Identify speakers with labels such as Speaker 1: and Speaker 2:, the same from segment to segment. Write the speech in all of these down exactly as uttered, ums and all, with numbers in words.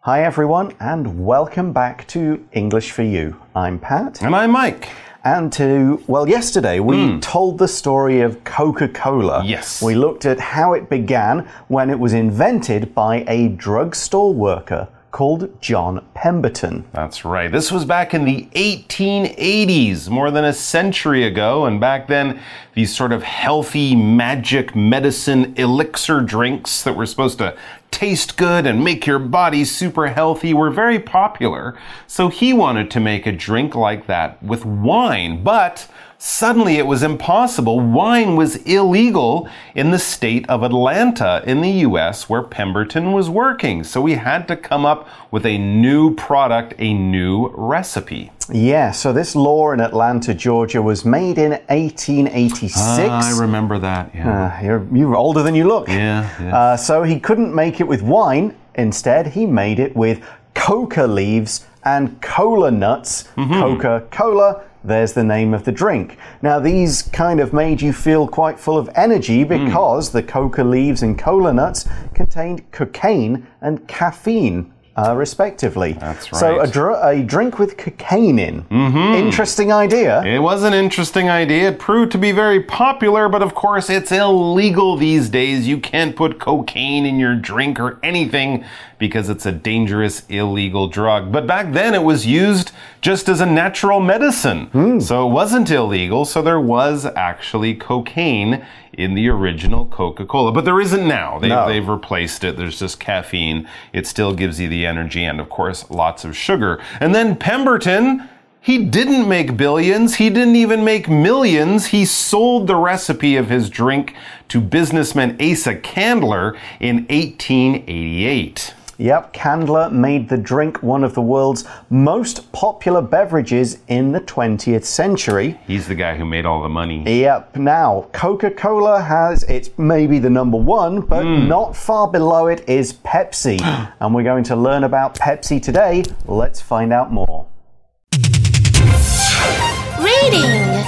Speaker 1: Hi everyone, and welcome back to English for You. I'm Pat.
Speaker 2: And I'm Mike.
Speaker 1: And to, well, yesterday we mm. told the story of Coca-Cola.
Speaker 2: Yes.
Speaker 1: We looked at how it began when it was invented by a drugstore worker called John Pemberton.
Speaker 2: That's right. This was back in the eighteen eighties, more than a century ago. And back then, these sort of healthy magic medicine elixir drinks that were supposed to taste good and make your body super healthy were very popular. So he wanted to make a drink like that with wine, but suddenly it was impossible. Wine was illegal in the state of Atlanta in the U S where Pemberton was working. So we had to come up with a new product, a new recipe.
Speaker 1: Yeah, so this law in Atlanta, Georgia was made in eighteen eighty-six.
Speaker 2: Ah, I remember that, yeah.
Speaker 1: Uh, you're, you're older than you look.
Speaker 2: Yeah, yeah.
Speaker 1: Uh, so he couldn't make it with wine. Instead, he made it with coca leaves and cola nuts. Mm-hmm. Coca-Cola. There's the name of the drink. Now, these kind of made you feel quite full of energy because mm. the coca leaves and cola nuts contained cocaine and caffeine, uh, respectively.
Speaker 2: That's right.
Speaker 1: So a, dr a drink with cocaine in.
Speaker 2: Mm-hmm.
Speaker 1: Interesting idea.
Speaker 2: It was an interesting idea. It proved to be very popular, but of course it's illegal these days. You can't put cocaine in your drink or anything because it's a dangerous, illegal drug. But back then it was used just as a natural medicine. Mm. So it wasn't illegal, so there was actually cocaine in the original Coca-Cola. But there isn't now. They've,
Speaker 1: no.
Speaker 2: they've replaced it. There's just caffeine. It still gives you the energy and, of course, lots of sugar. And then Pemberton, he didn't make billions. He didn't even make millions. He sold the recipe of his drink to businessman Asa Candler in eighteen eighty-eight.
Speaker 1: Yep, Candler made the drink one of the world's most popular beverages in the twentieth century.
Speaker 2: He's the guy who made all the money.
Speaker 1: Yep, now Coca-Cola has, it's maybe the number one, but mm. not far below it is Pepsi. And we're going to learn about Pepsi today. Let's find out more.
Speaker 3: Reading.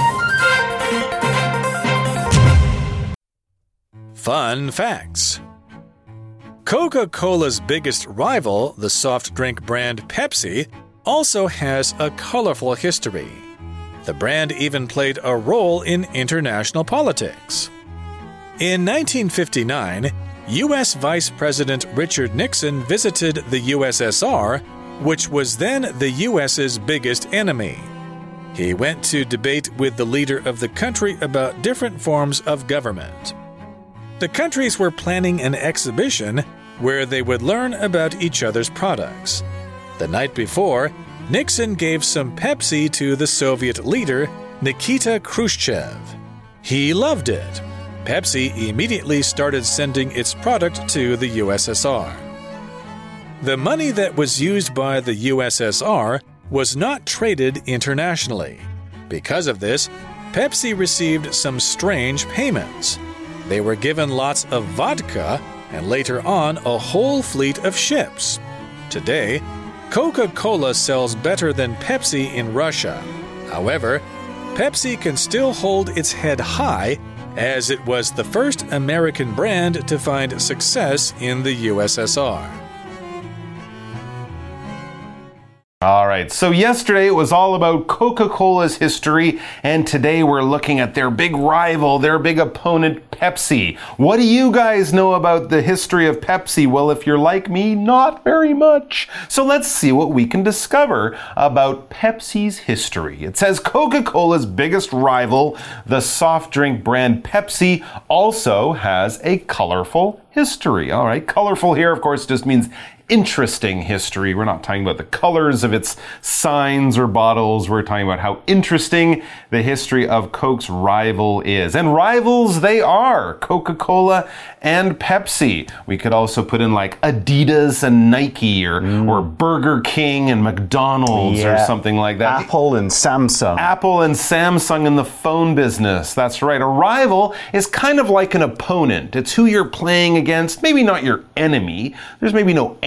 Speaker 4: Fun facts. Coca-Cola's biggest rival, the soft drink brand Pepsi, also has a colorful history. The brand even played a role in international politics. In nineteen fifty-nine, U S Vice President Richard Nixon visited the U S S R, which was then the U S's biggest enemy. He went to debate with the leader of the country about different forms of government. The countries were planning an exhibition where they would learn about each other's products. The night before, Nixon gave some Pepsi to the Soviet leader, Nikita Khrushchev. He loved it. Pepsi immediately started sending its product to the U S S R. The money that was used by the U S S R was not traded internationally. Because of this, Pepsi received some strange payments. They were given lots of vodka and later on a whole fleet of ships. Today, Coca-Cola sells better than Pepsi in Russia. However, Pepsi can still hold its head high as it was the first American brand to find success in the U S S R.
Speaker 2: All right, so yesterday it was all about Coca-Cola's history, and today we're looking at their big rival, their big opponent, Pepsi. What do you guys know about the history of Pepsi? Well, if you're like me, not very much. So let's see what we can discover about Pepsi's history. It says Coca-Cola's biggest rival, the soft drink brand Pepsi, also has a colorful history. All right, colorful here, of course, just means interesting history. We're not talking about the colors of its signs or bottles. We're talking about how interesting the history of Coke's rival is. And rivals they are, Coca-Cola and Pepsi. We could also put in like Adidas and Nike or, mm. or Burger King and McDonald's yeah. or something like that.
Speaker 1: Apple and Samsung.
Speaker 2: Apple and Samsung in the phone business. That's right. A rival is kind of like an opponent. It's who you're playing against. Maybe not your enemy. There's maybe no enemy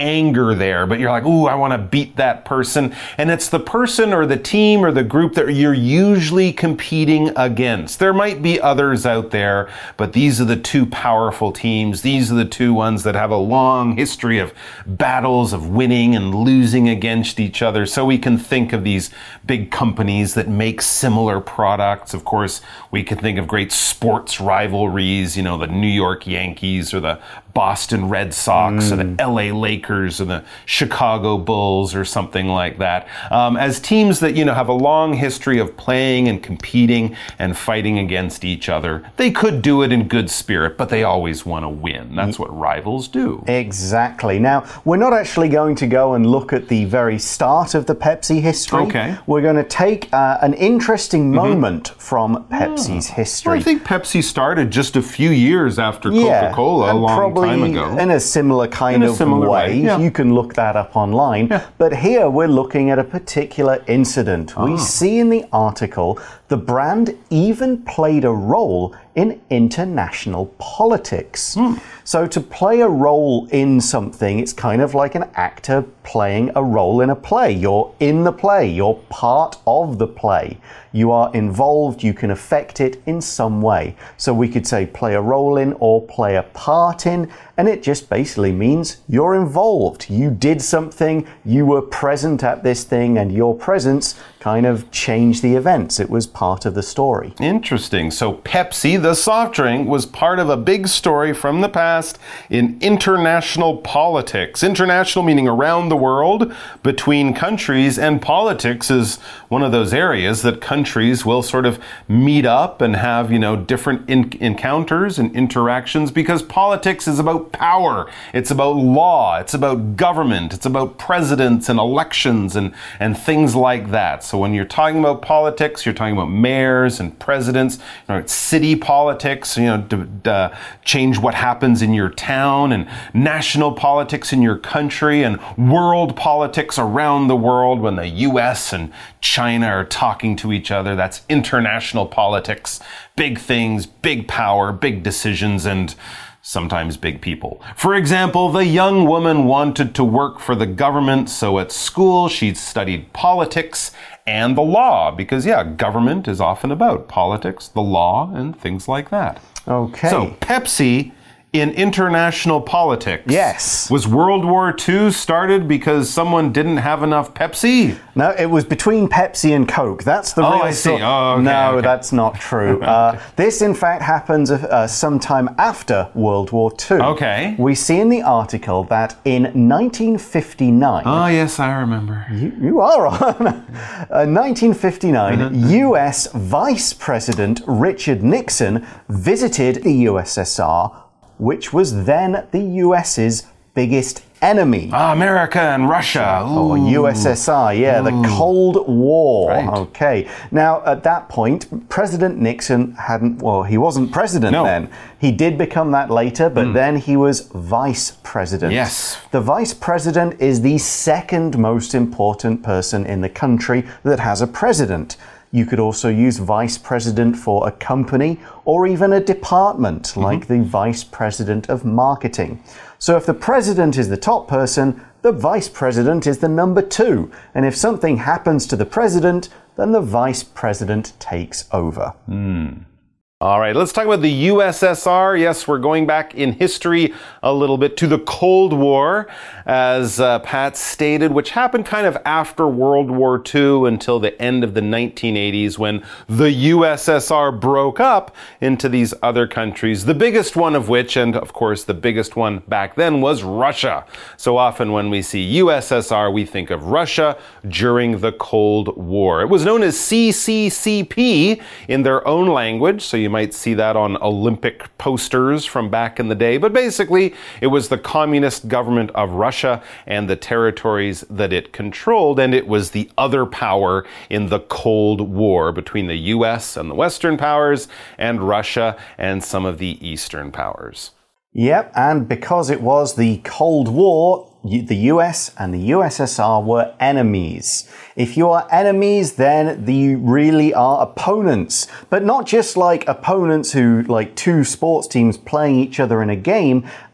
Speaker 2: anger there, but you're like, ooh, I want to beat that person. And it's the person or the team or the group that you're usually competing against. There might be others out there, but these are the two powerful teams. These are the two ones that have a long history of battles, of winning and losing against each other. So we can think of these big companies that make similar products. Of course, we can think of great sports rivalries, you know, the New York Yankees or the Boston Red Sox mm. or the L A Lakers or the Chicago Bulls or something like that. Um, as teams that, you know, have a long history of playing and competing and fighting against each other. They could do it in good spirit, but they always want to win. That's what rivals do.
Speaker 1: Exactly. Now, we're not actually going to go and look at the very start of the Pepsi history.
Speaker 2: Okay.
Speaker 1: We're going to take uh, an interesting moment mm-hmm. from Pepsi's
Speaker 2: oh.
Speaker 1: history.
Speaker 2: Well, I think Pepsi started just a few years after
Speaker 1: yeah,
Speaker 2: Coca-Cola, a long time ago.
Speaker 1: In a similar kind
Speaker 2: in a
Speaker 1: of
Speaker 2: similar
Speaker 1: way.
Speaker 2: way. Yeah.
Speaker 1: You can look that up online. Yeah. But here we're looking at a particular incident. Oh. We see in the article the brand even played a role in international politics. Mm. So to play a role in something, it's kind of like an actor playing a role in a play. You're in the play. You're part of the play. You are involved. You can affect it in some way. So we could say play a role in or play a part in, and it just basically means you're involved. You did something. You were present at this thing, and your presence kind of changed the events. It was part of the story.
Speaker 2: Interesting. So Pepsi, the soft drink, was part of a big story from the past in international politics. International meaning around the world, between countries, and politics is one of those areas that countries will sort of meet up and have, you know, different in- encounters and interactions, because politics is about power. It's about law. It's about government. It's about presidents and elections and, and things like that. So when you're talking about politics, you're talking about mayors and presidents, you know, it's city politics, you know, to, to change what happens in your town, and national politics in your country, and world politics around the world when the U S and China are talking to each other. That's international politics. Big things, big power, big decisions, and sometimes big people. For example, the young woman wanted to work for the government, so at school she studied politics and the law, because, yeah, government is often about politics, the law, and things like that.
Speaker 1: Okay.
Speaker 2: So, Pepsi in international politics.
Speaker 1: Yes.
Speaker 2: Was World War Two started because someone didn't have enough Pepsi?
Speaker 1: No, it was between Pepsi and Coke. That's the
Speaker 2: oh,
Speaker 1: real
Speaker 2: I see.
Speaker 1: story.
Speaker 2: Oh, okay,
Speaker 1: no,
Speaker 2: okay.
Speaker 1: that's not true. uh, this, in fact, happens uh, sometime after World War Two.
Speaker 2: Okay.
Speaker 1: We see in the article that in nineteen fifty-nine...
Speaker 2: Oh, yes, I remember.
Speaker 1: You, you are on. uh, nineteen fifty-nine, mm-hmm. U S Vice President Richard Nixon visited the U S S R, which was then the U S's biggest enemy.
Speaker 2: Ah, America and Russia. Ooh.
Speaker 1: Or U S S R, yeah, Ooh. the Cold War.
Speaker 2: Right.
Speaker 1: Okay. Now, at that point, President Nixon hadn't, well, he wasn't president
Speaker 2: no.
Speaker 1: then. He did become that later, but mm. then he was vice president.
Speaker 2: Yes.
Speaker 1: The vice president is the second most important person in the country that has a president. You could also use vice president for a company or even a department, mm-hmm. like the vice president of marketing. So if the president is the top person, the vice president is the number two. And if something happens to the president, then the vice president takes over.
Speaker 2: Mm. All right, let's talk about the U S S R. Yes, we're going back in history a little bit to the Cold War, as uh, Pat stated, which happened kind of after World War Two until the end of the nineteen eighties, when the U S S R broke up into these other countries, the biggest one of which, and of course the biggest one back then, was Russia. So often when we see U S S R, we think of Russia during the Cold War. It was known as C C C P in their own language, so you You might see that on Olympic posters from back in the day. But basically, it was the communist government of Russia and the territories that it controlled, and it was the other power in the Cold War between the U S and the Western powers and Russia and some of the Eastern powers.
Speaker 1: Yep, and because it was the Cold War, the U S and the U S S R were enemies. If you are enemies, then you really are opponents. But not just like opponents who, like two sports teams playing each other in a game.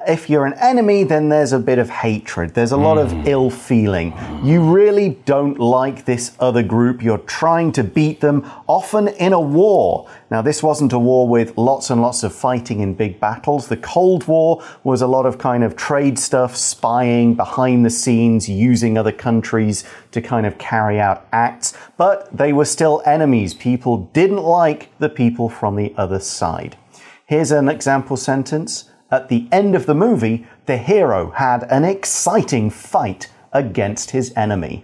Speaker 1: If you're an enemy, then there's a bit of hatred. There's a lot mm. of ill feeling. You really don't like this other group. You're trying to beat them, often in a war. Now, this wasn't a war with lots and lots of fighting in big battles. The Cold War was a lot of kind of trade stuff, spying behind the scenes, using other countries to kind of carry out acts. But they were still enemies. People didn't like the people from the other side. Here's an example sentence. At the end of the movie, the hero had an exciting fight against his enemy.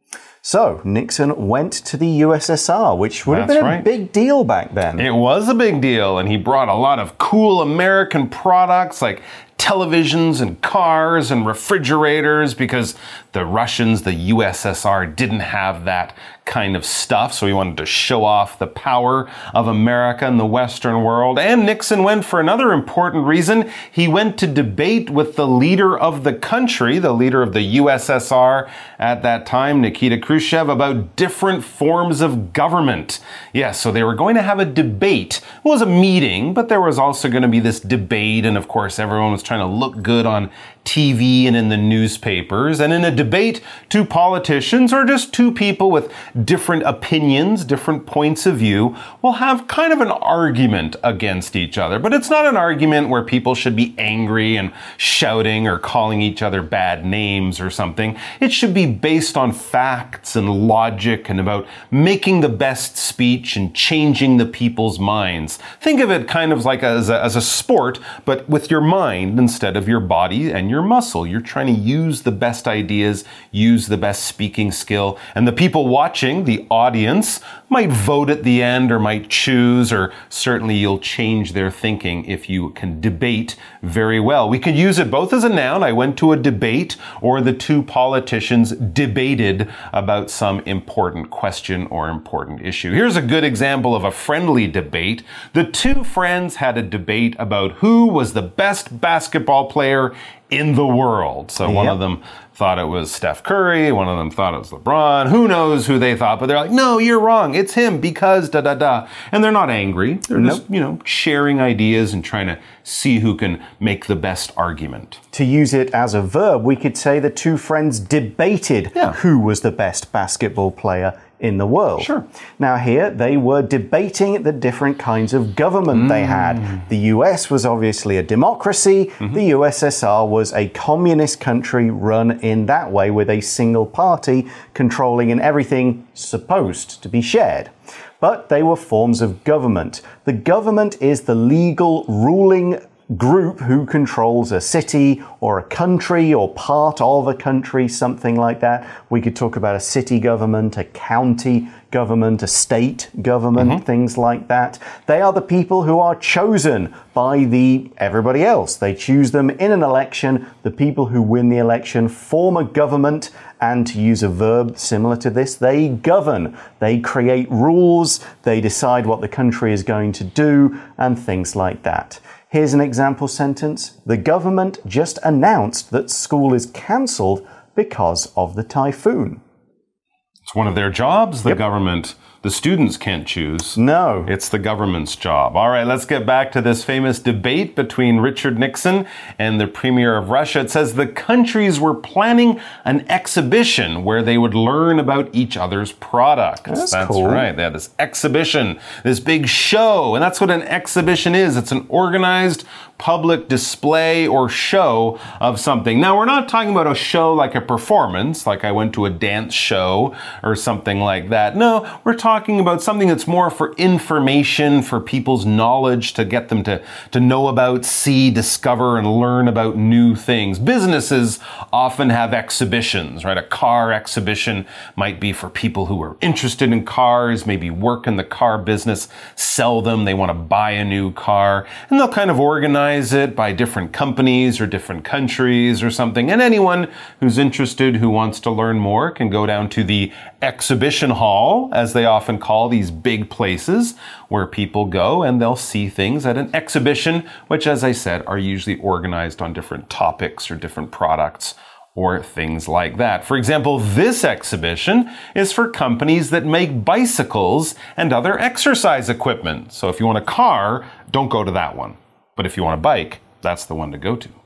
Speaker 1: So, Nixon went to the U S S R, which would have been a big deal back then.
Speaker 2: It was a big deal, and he brought a lot of cool American products like televisions and cars and refrigerators, because the Russians, the U S S R, didn't have that kind of stuff. So he wanted to show off the power of America in the Western world. And Nixon went for another important reason. He went to debate with the leader of the country, the leader of the U S S R at that time, Nikita Khrushchev, about different forms of government. Yes, so they were going to have a debate. It was a meeting, but there was also going to be this debate. And of course, everyone was trying to look good on T V and in the newspapers. And in a debate, two politicians or just two people with different opinions, different points of view will have kind of an argument against each other. But it's not an argument where people should be angry and shouting or calling each other bad names or something. It should be based on facts and logic and about making the best speech and changing the people's minds. Think of it kind of like as a, as a sport, but with your mind instead of your body and your muscle. You're trying to use the best ideas, use the best speaking skill, and the people watching, the audience, might vote at the end or might choose, or certainly you'll change their thinking if you can debate very well. We could use it both as a noun, I went to a debate, or the two politicians debated about some important question or important issue. Here's a good example of a friendly debate. The two friends had a debate about who was the best basketball player in the world. So one yep. of them thought it was Steph Curry, one of them thought it was LeBron. Who knows who they thought, but they're like, no, you're wrong. It's him because da da da. And they're not angry. They're nope. just, you know, sharing ideas and trying to see who can make the best argument.
Speaker 1: To use it as a verb, we could say the two friends debated yeah. who was the best basketball player in the world.
Speaker 2: Sure.
Speaker 1: Now here, they were debating the different kinds of government mm. they had. The U S was obviously a democracy. Mm-hmm. The U S S R was a communist country run in that way with a single party controlling and everything supposed to be shared. But they were forms of government. The government is the legal ruling group who controls a city or a country or part of a country, something like that. We could talk about a city government, a county government, a state government, mm-hmm. things like that. They are the people who are chosen by the everybody else. They choose them in an election. The people who win the election form a government, and to use a verb similar to this, they govern. They create rules, they decide what the country is going to do, and things like that. Here's an example sentence. The government just announced that school is cancelled because of the typhoon.
Speaker 2: It's one of their jobs, the
Speaker 1: yep.
Speaker 2: government. The students can't choose.
Speaker 1: No.
Speaker 2: It's the government's job. All right, let's get back to this famous debate between Richard Nixon and the Premier of Russia. It says the countries were planning an exhibition where they would learn about each other's products.
Speaker 1: That's,
Speaker 2: that's
Speaker 1: cool.
Speaker 2: right. They had this exhibition, this big show. And that's what an exhibition is. It's an organized public display or show of something. Now, we're not talking about a show like a performance, like I went to a dance show or something like that. No, we're talking about something that's more for information, for people's knowledge, to get them to, to know about, see, discover, and learn about new things. Businesses often have exhibitions, right? A car exhibition might be for people who are interested in cars, maybe work in the car business, sell them, they want to buy a new car, and they'll kind of organize it by different companies or different countries or something. And anyone who's interested, who wants to learn more, can go down to the exhibition hall, as they often call these big places where people go and they'll see things at an exhibition, which, as I said, are usually organized on different topics or different products or things like that. For example, this exhibition is for companies that make bicycles and other exercise equipment. So if you want a car, don't go to that one. But if you want a bike, that's the one to go to.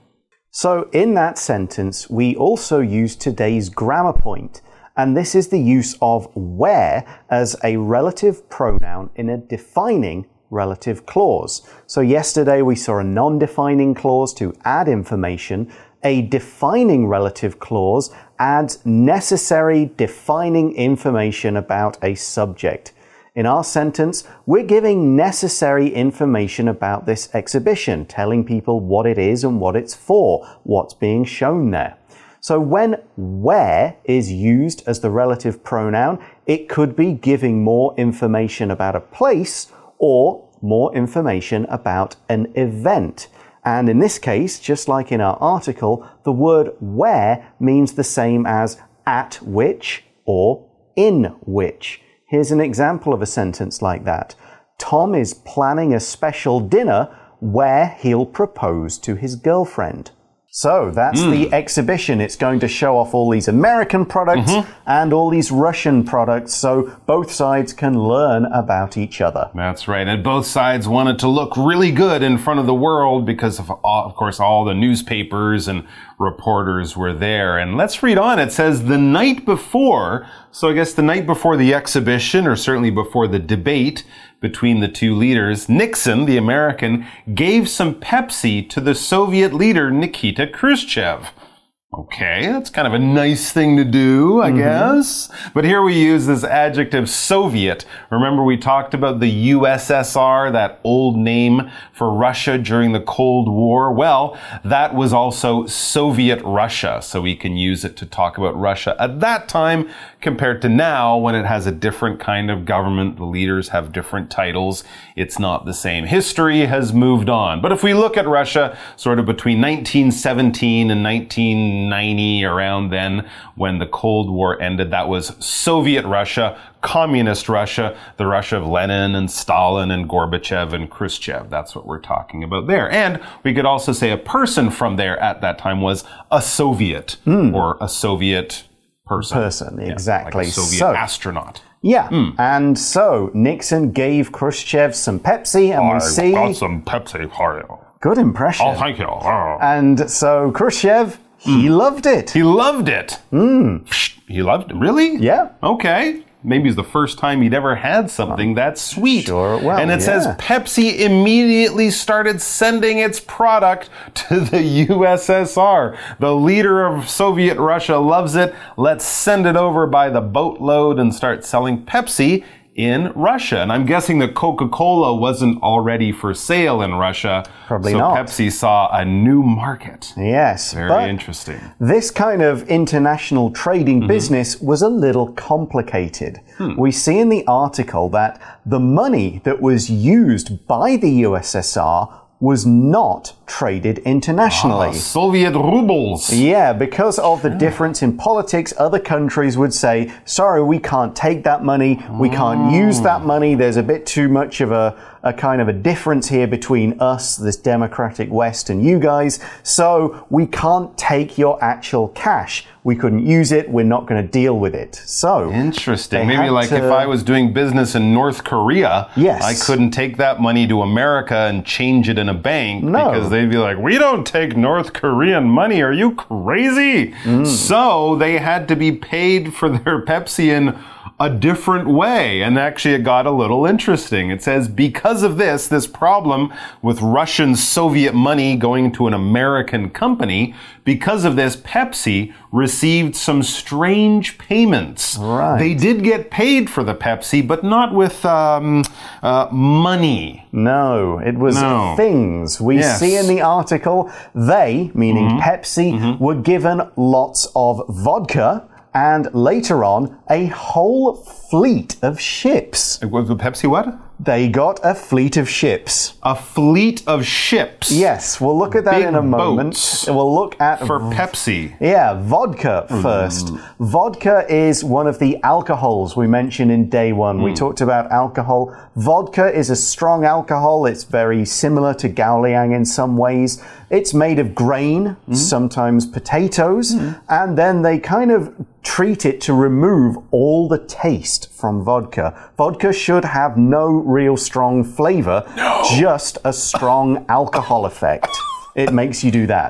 Speaker 1: So in that sentence, we also use today's grammar point, and this is the use of where as a relative pronoun in a defining relative clause. So yesterday we saw a non-defining clause to add information. A defining relative clause adds necessary defining information about a subject. In our sentence, we're giving necessary information about this exhibition, telling people what it is and what it's for, what's being shown there. So when where is used as the relative pronoun, it could be giving more information about a place or more information about an event. And in this case, just like in our article, the word where means the same as at which or in which. Here's an example of a sentence like that. Tom is planning a special dinner where he'll propose to his girlfriend. So that's mm. the exhibition. It's going to show off all these American products mm-hmm. and all these Russian products, so both sides can learn about each other.
Speaker 2: That's right. And both sides wanted to look really good in front of the world because, of, of course, all the newspapers and reporters were there. And let's read on. It says the night before, so I guess the night before the exhibition, or certainly before the debate between the two leaders, Nixon, the American, gave some Pepsi to the Soviet leader Nikita Khrushchev. Okay, that's kind of a nice thing to do, I mm-hmm. guess. But here we use this adjective Soviet. Remember we talked about the U S S R, that old name for Russia during the Cold War? Well, that was also Soviet Russia, so we can use it to talk about Russia at that time compared to now when it has a different kind of government. The leaders have different titles. It's not the same. History has moved on. But if we look at Russia sort of between nineteen seventeen and nineteen ninety, around then when the Cold War ended, that was Soviet Russia, Communist Russia, the Russia of Lenin and Stalin and Gorbachev and Khrushchev. That's what we're talking about there. And we could also say a person from there at that time was a Soviet mm. or a Soviet person. Person,
Speaker 1: exactly.
Speaker 2: Yeah, like a Soviet
Speaker 1: so,
Speaker 2: astronaut.
Speaker 1: Yeah, mm. and so Nixon gave Khrushchev some Pepsi, and
Speaker 2: I
Speaker 1: we see...
Speaker 2: got some Pepsi for you.
Speaker 1: Good impression.
Speaker 2: Oh, thank you. Oh.
Speaker 1: And so Khrushchev, he mm. loved it.
Speaker 2: He loved it.
Speaker 1: Mm.
Speaker 2: He loved it? Really?
Speaker 1: Yeah.
Speaker 2: Okay. Maybe it's the first time he'd ever had something that sweet.
Speaker 1: Sure, well,
Speaker 2: and it
Speaker 1: yeah.
Speaker 2: says Pepsi immediately started sending its product to the U S S R. The leader of Soviet Russia loves it. Let's send it over by the boatload and start selling Pepsi in Russia. And I'm guessing that Coca-Cola wasn't already for sale in Russia.
Speaker 1: Probably
Speaker 2: so
Speaker 1: not.
Speaker 2: Pepsi saw a new market.
Speaker 1: Yes.
Speaker 2: Very interesting.
Speaker 1: This kind of international trading mm-hmm. business was a little complicated. Hmm. We see in the article that the money that was used by the U S S R was not traded internationally.
Speaker 2: Ah, Soviet rubles.
Speaker 1: Yeah, because of the difference in politics, other countries would say, sorry, we can't take that money, we can't use that money, there's a bit too much of a, a kind of a difference here between us, this democratic West, and you guys, so we can't take your actual cash. We couldn't use it, we're not going to deal with it. So
Speaker 2: interesting. Maybe like to, if I was doing business in North Korea,
Speaker 1: yes.
Speaker 2: I couldn't take that money to America and change it in a bank
Speaker 1: no.
Speaker 2: because they'd be like, we don't take North Korean money. Are you crazy? Mm. So they had to be paid for their Pepsi in a different way. And actually it got a little interesting. It says, because of this, this problem with Russian Soviet money going to an American company, because of this, Pepsi received some strange payments.
Speaker 1: Right.
Speaker 2: They did get paid for the Pepsi, but not with um, uh, money.
Speaker 1: No, it was
Speaker 2: no.
Speaker 1: things. We
Speaker 2: yes.
Speaker 1: see in the article, they, meaning mm-hmm. Pepsi, mm-hmm. were given lots of vodka, and later on, a whole fleet of ships.
Speaker 2: Was the Pepsi what?
Speaker 1: They got a fleet of ships.
Speaker 2: A fleet of ships?
Speaker 1: Yes, we'll look at that
Speaker 2: Big
Speaker 1: in a moment.
Speaker 2: Boats
Speaker 1: we'll look at...
Speaker 2: For Pepsi.
Speaker 1: Yeah, vodka first. Mm. Vodka is one of the alcohols we mentioned in day one. Mm. We talked about alcohol. Vodka is a strong alcohol. It's very similar to Gaoliang in some ways. It's made of grain, mm. sometimes potatoes, mm. and then they kind of treat it to remove all the taste from vodka. Vodka should have no real strong flavor,
Speaker 2: no.
Speaker 1: just a strong alcohol effect. It makes you do that.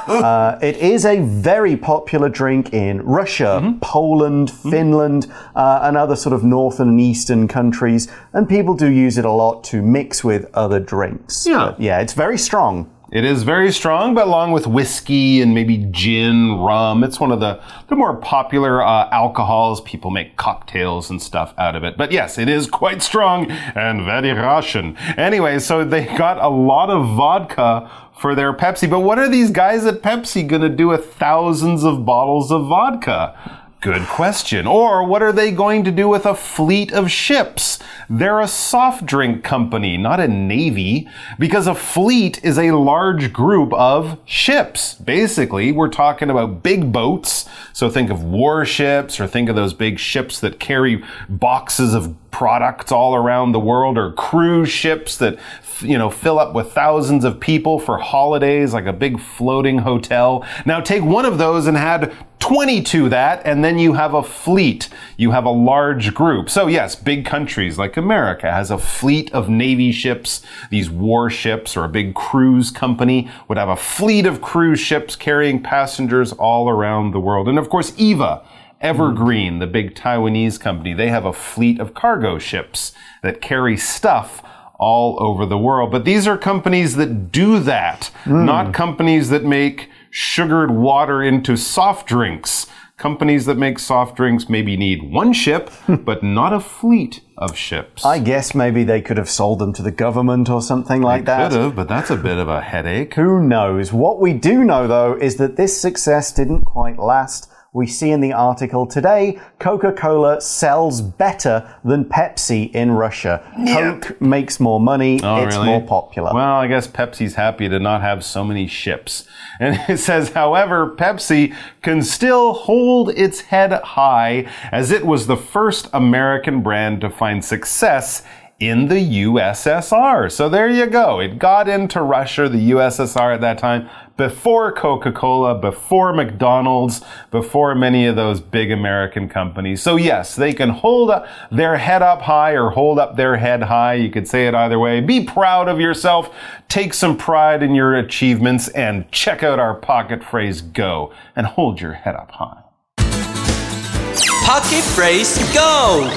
Speaker 1: uh, it is a very popular drink in Russia, mm-hmm. Poland, mm-hmm. Finland, uh, and other sort of northern and eastern countries. And people do use it a lot to mix with other drinks.
Speaker 2: Yeah.
Speaker 1: But yeah, it's very strong.
Speaker 2: It is very strong, but along with whiskey and maybe gin, rum, it's one of the, the more popular uh, alcohols. People make cocktails and stuff out of it. But yes, it is quite strong and very Russian. Anyway, so they got a lot of vodka for their Pepsi. But what are these guys at Pepsi going to do with thousands of bottles of vodka? Good question. Or what are they going to do with a fleet of ships? They're a soft drink company, not a navy, because a fleet is a large group of ships. Basically, we're talking about big boats. So think of warships, or think of those big ships that carry boxes of products all around the world, or cruise ships that, you know, fill up with thousands of people for holidays, like a big floating hotel. Now take one of those and add twenty to that, and then you have a fleet. You have a large group. So yes, big countries like America has a fleet of Navy ships. These warships, or a big cruise company would have a fleet of cruise ships carrying passengers all around the world. And of course, Eva, Evergreen, the big Taiwanese company, they have a fleet of cargo ships that carry stuff all over the world. But these are companies that do that, mm. not companies that make sugared water into soft drinks. Companies that make soft drinks maybe need one ship, but not a fleet of ships.
Speaker 1: I guess maybe they could have sold them to the government or something like
Speaker 2: they
Speaker 1: that.
Speaker 2: Could have, but that's a bit of a headache.
Speaker 1: Who knows? What we do know, though, is that this success didn't quite last. We see in the article today, Coca-Cola sells better than Pepsi in Russia.
Speaker 2: Yep.
Speaker 1: Coke makes more money.
Speaker 2: Oh,
Speaker 1: it's
Speaker 2: really?
Speaker 1: more popular.
Speaker 2: Well, I guess Pepsi's happy to not have so many ships. And it says, however, Pepsi can still hold its head high, as it was the first American brand to find success in the U S S R. So there you go. It got into Russia, the U S S R at that time, before Coca-Cola, before McDonald's, before many of those big American companies. So yes, they can hold up their head up high or hold up their head high. You could say it either way. Be proud of yourself. Take some pride in your achievements and check out our pocket phrase Go and hold your head up high.
Speaker 3: Pocket phrase Go!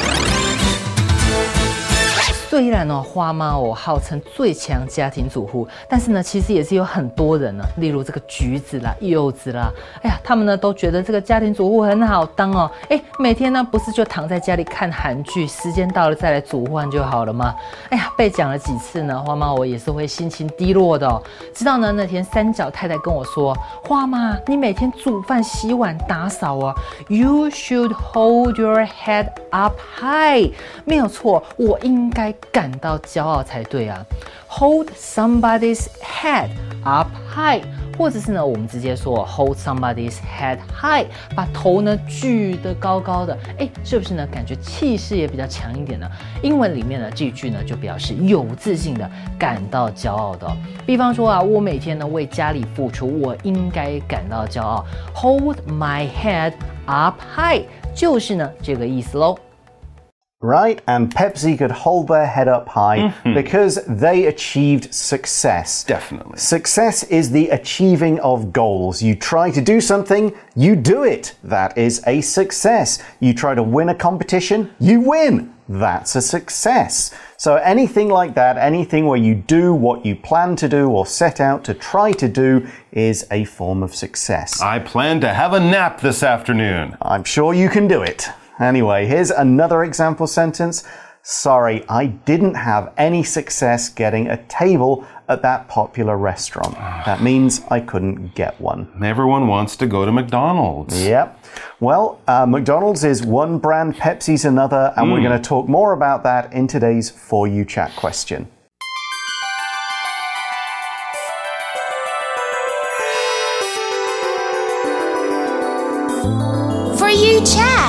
Speaker 5: 虽然呢，花妈哦号称最强家庭主妇，但是呢，其實也是有很多人呢，例如這個橘子啦、柚子啦，哎呀，他們呢都覺得這個家庭主婦很好當哦，哎，每天呢不是就躺在家裡看韓劇，時間到了再來煮飯就好了嗎？哎呀，被講了幾次呢，花媽我也是會心情低落的哦。直到呢那天三角太太跟我說，花媽，你每天煮飯、洗碗、打掃啊 ，You should hold your head up high， 沒有錯，我應該感到驕傲才對啊 ！Hold somebody's head up high， 或者是呢，我們直接說 hold somebody's head high， 把頭呢舉得高高的，哎，是不是呢？感覺氣勢也比較強一點呢？英文裡面呢，這一句呢就表示有自信的，感到驕傲的哦。比方說啊，我每天呢為家裡付出，我應該感到驕傲。Hold my head up high， 就是呢這個意思嘍。
Speaker 1: Right, and Pepsi could hold their head up high mm-hmm. because they achieved success.
Speaker 2: Definitely.
Speaker 1: Success is the achieving of goals. You try to do something, you do it. That is a success. You try to win a competition, you win. That's a success. So anything like that, anything where you do what you plan to do or set out to try to do is a form of success.
Speaker 2: I plan to have a nap this afternoon.
Speaker 1: I'm sure you can do it. Anyway, here's another example sentence. Sorry, I didn't have any success getting a table at that popular restaurant. That means I couldn't get one.
Speaker 2: Everyone wants to go to McDonald's.
Speaker 1: Yep. Well, uh, McDonald's is one brand, Pepsi's another, and mm. we're going to talk more about that in today's For You Chat question.
Speaker 6: For You Chat.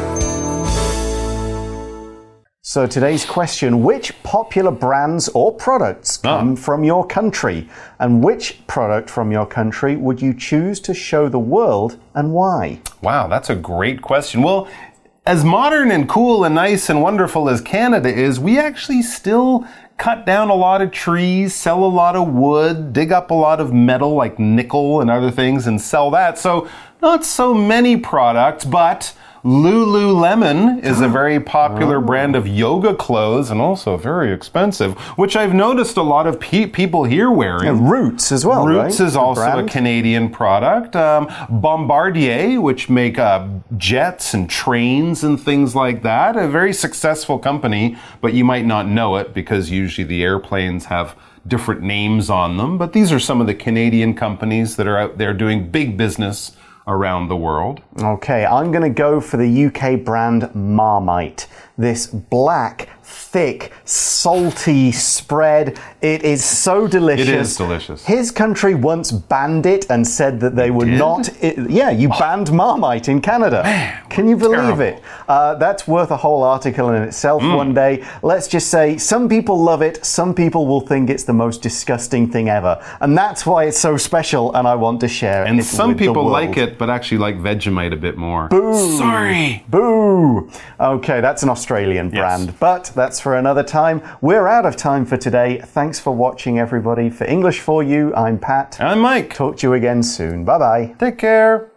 Speaker 1: So today's question, which popular brands or products come oh. from your country? And which product from your country would you choose to show the world and why?
Speaker 2: Wow, that's a great question. Well, as modern and cool and nice and wonderful as Canada is, we actually still cut down a lot of trees, sell a lot of wood, dig up a lot of metal like nickel and other things and sell that. So not so many products, but Lululemon is a very popular oh. brand of yoga clothes and also very expensive, which I've noticed a lot of pe people here wearing.
Speaker 1: And Roots as well,
Speaker 2: Roots
Speaker 1: right?
Speaker 2: is also a Canadian product. Um, Bombardier, which make uh, jets and trains and things like that. A very successful company, but you might not know it because usually the airplanes have different names on them. But these are some of the Canadian companies that are out there doing big business around the world.
Speaker 1: Okay, I'm going to go for the U K brand Marmite. This black, thick, salty spread. It is so delicious.
Speaker 2: It is delicious.
Speaker 1: His country once banned it and said that they would
Speaker 2: did?
Speaker 1: not... It, yeah, you oh. banned Marmite in Canada.
Speaker 2: Man,
Speaker 1: Can you believe
Speaker 2: terrible.
Speaker 1: it? Uh, that's worth a whole article in itself mm. one day. Let's just say some people love it. Some people will think it's the most disgusting thing ever. And that's why it's so special and I want to share
Speaker 2: and
Speaker 1: it
Speaker 2: some
Speaker 1: with
Speaker 2: people
Speaker 1: the world.
Speaker 2: like it, but actually like Vegemite a bit more.
Speaker 1: Boo!
Speaker 2: Sorry!
Speaker 1: Boo! Okay, that's an Australian brand,
Speaker 2: yes.
Speaker 1: but that's for another time. We're out of time for today. Thanks for watching, everybody. For English for You, I'm Pat.
Speaker 2: I'm Mike.
Speaker 1: Talk to you again soon. Bye-bye.
Speaker 2: Take care.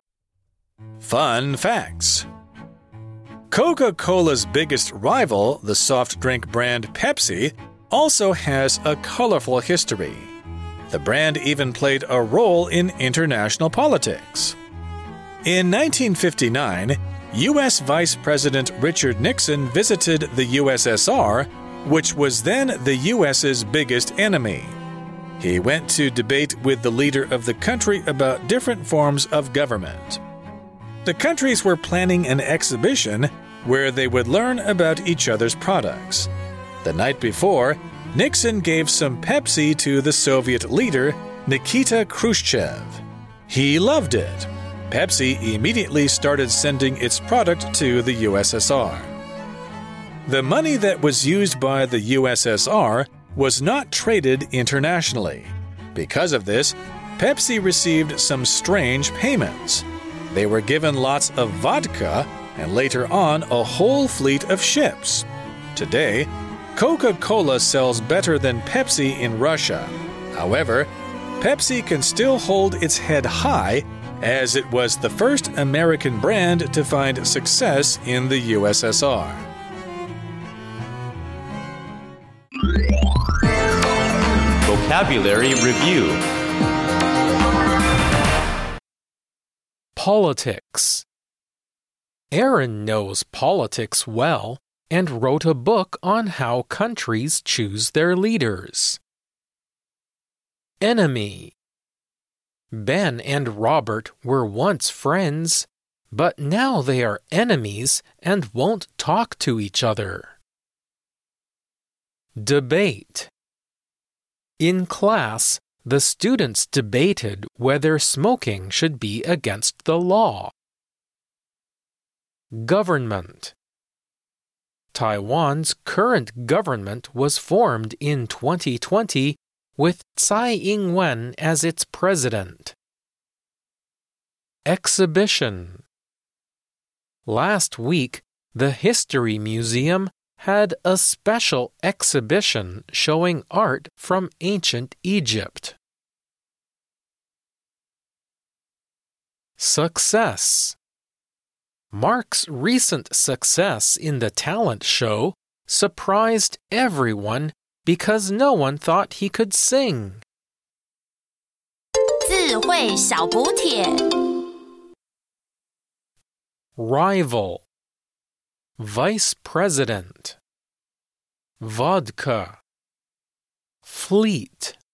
Speaker 4: Fun facts. Coca-Cola's biggest rival, the soft drink brand Pepsi, also has a colorful history. The brand even played a role in international politics. In nineteen fifty-nine, U S Vice President Richard Nixon visited the U S S R, which was then the U S's biggest enemy. He went to debate with the leader of the country about different forms of government. The countries were planning an exhibition where they would learn about each other's products. The night before, Nixon gave some Pepsi to the Soviet leader, Nikita Khrushchev. He loved it. Pepsi immediately started sending its product to the U S S R. The money that was used by the U S S R was not traded internationally. Because of this, Pepsi received some strange payments. They were given lots of vodka and later on a whole fleet of ships. Today, Coca-Cola sells better than Pepsi in Russia. However, Pepsi can still hold its head high as it was the first American brand to find success in the U S S R.
Speaker 3: Vocabulary Review.
Speaker 6: Politics. Aaron knows politics well and wrote a book on how countries choose their leaders. Enemy. Ben and Robert were once friends, but now they are enemies and won't talk to each other. Debate. In class, the students debated whether smoking should be against the law. Government. Taiwan's current government was formed in twenty twenty with Tsai Ing-wen as its president. Exhibition. Last week, the History Museum had a special exhibition showing art from ancient Egypt. Success. Mark's recent success in the talent show surprised everyone because no one thought he could sing.
Speaker 7: 智慧小補帖
Speaker 6: Rival. Vice President. Vodka. Fleet.